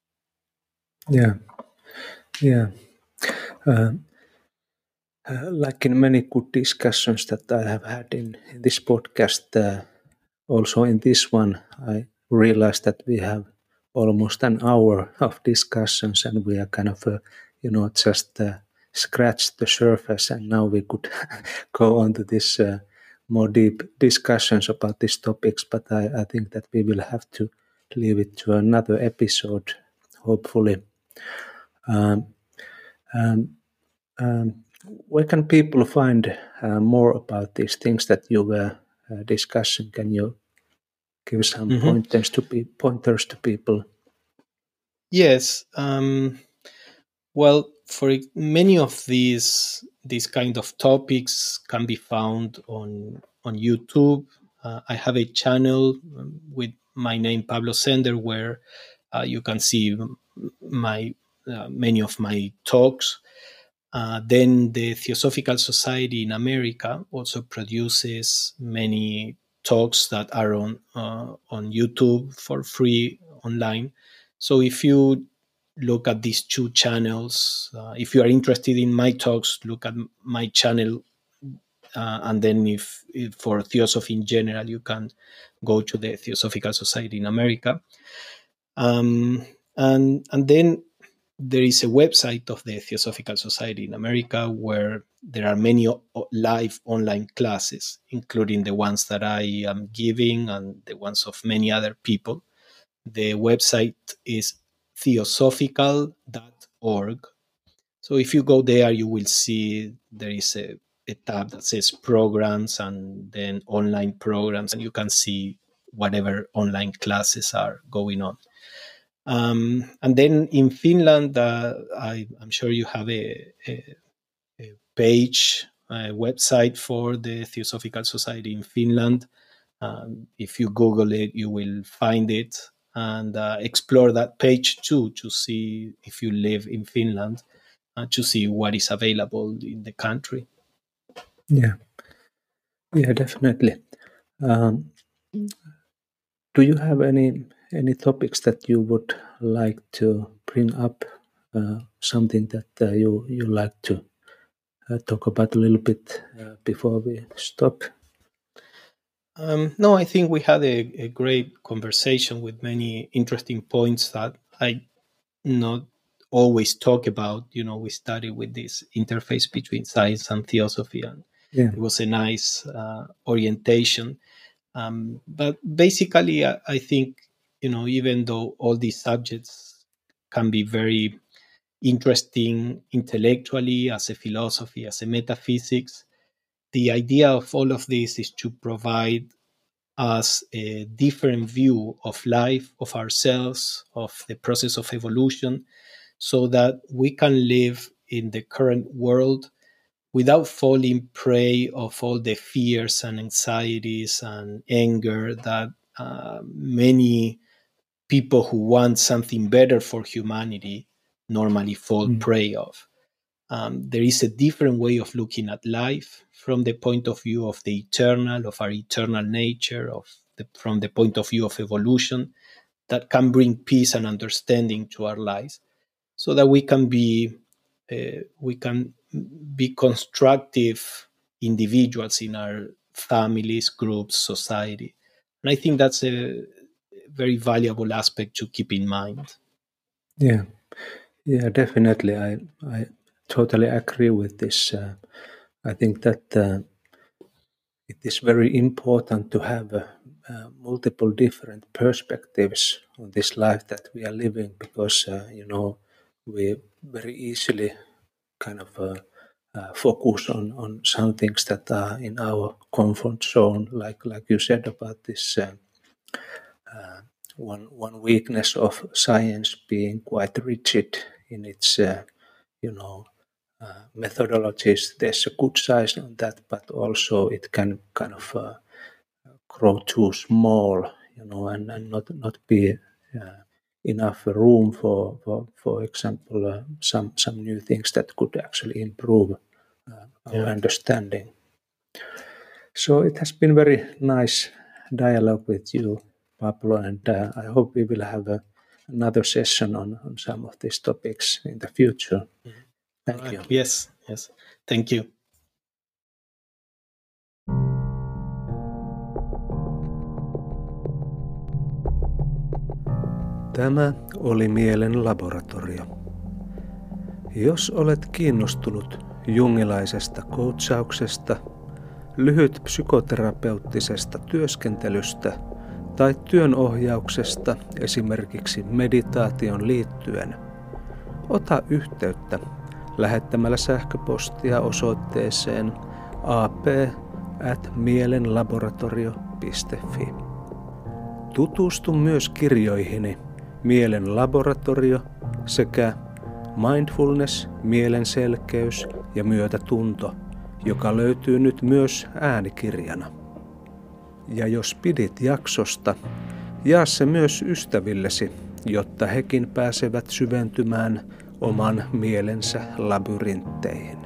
yeah, yeah. Uh, uh, like in many good discussions that I have had in, in this podcast, uh, also in this one, I realized that we have almost an hour of discussions, and we are kind of, uh, you know, just uh, scratched the surface, and now we could go on to this uh, more deep discussions about these topics. But I, I think that we will have to leave it to another episode, hopefully. Um, um, um, where can people find uh, more about these things that you were uh, discussing? Can you give some Mhm. pointers to pe- pointers to people? Yes. Um, Well, for many of these these kind of topics can be found on on YouTube. Uh, I have a channel um, with my name Pablo Sender where uh, you can see my uh, many of my talks. Uh, then the Theosophical Society in America also produces many talks that are on uh, on YouTube for free online. So if you look at these two channels, uh, if you are interested in my talks, look at my channel, uh, and then if, if for Theosophy in general, you can go to the Theosophical Society in America, um, and and then there is a website of the Theosophical Society in America where there are many o- live online classes, including the ones that I am giving and the ones of many other people. The website is theosophical dot org. So if you go there, you will see there is a, a tab that says programs and then online programs, and you can see whatever online classes are going on. Um, and then in Finland, uh, I, I'm sure you have a, a, a page, a website for the Theosophical Society in Finland. Um, if you Google it, you will find it, and uh, explore that page too to see if you live in Finland, uh, to see what is available in the country. Yeah, yeah, definitely. Um, do you have any any topics that you would like to bring up? Uh, something that uh, you you like to uh, talk about a little bit uh, before we stop? Um, no, I think we had a, a great conversation with many interesting points that I not always talk about. You know, we started with this interface between science and theosophy, and Yeah, it was a nice uh, orientation. Um, but basically, I, I think, you know, even though all these subjects can be very interesting intellectually, as a philosophy, as a metaphysics, the idea of all of this is to provide us a different view of life, of ourselves, of the process of evolution, so that we can live in the current world without falling prey of all the fears and anxieties and anger that uh, many people who want something better for humanity normally fall mm. prey of. Um, there is a different way of looking at life from the point of view of the eternal, of our eternal nature, of the, from the point of view of evolution, that can bring peace and understanding to our lives, so that we can be uh, we can be constructive individuals in our families, groups, society. And I think that's a very valuable aspect to keep in mind. Yeah, yeah, definitely. I I totally agree with this. Uh, I think that uh, it is very important to have uh, uh, multiple different perspectives on this life that we are living, because uh, you know we very easily kind of uh, uh, focus on on some things that are in our comfort zone, like like you said about this uh, uh, one one weakness of science being quite rigid in its uh, you know uh, methodologies. There's a good side on that, but also it can kind of uh, grow too small, you know, and, and not not be uh, enough room for, for, for example, uh, some some new things that could actually improve uh, our Yeah. understanding. So it has been very nice dialogue with you, Pablo, and uh, I hope we will have a, another session on, on some of these topics in the future. Thank All right. you. Yes. Yes. Thank you. Tämä oli Mielen laboratorio. Jos olet kiinnostunut jungilaisesta coachauksesta, lyhyt psykoterapeuttisesta työskentelystä tai työnohjauksesta esimerkiksi meditaation liittyen, ota yhteyttä lähettämällä sähköpostia osoitteeseen a p at mielenlaboratorio piste f i. Tutustu myös kirjoihini Mielen laboratorio sekä Mindfulness, mielenselkeys ja myötätunto, joka löytyy nyt myös äänikirjana. Ja jos pidit jaksosta, jaa se myös ystävillesi, jotta hekin pääsevät syventymään oman mielensä labyrintteihin.